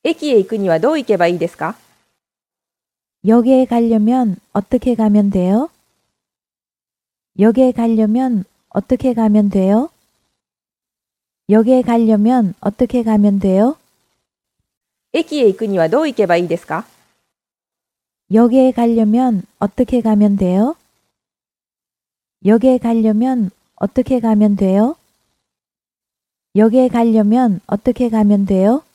駅へ行くにはどう行けばいいですか？ 역에 가려면 어떻게 가면 돼요? 역에 가려면 어떻게 가면 돼요? 역에 가려면 어떻게 가면 돼요? 駅へ行くにはどう行けばいいですか？ 역에 가려면 어떻게 가면 돼요? 역에 가려면 어떻게 가면 돼요? 역에 가려면 어떻게 가면 돼요?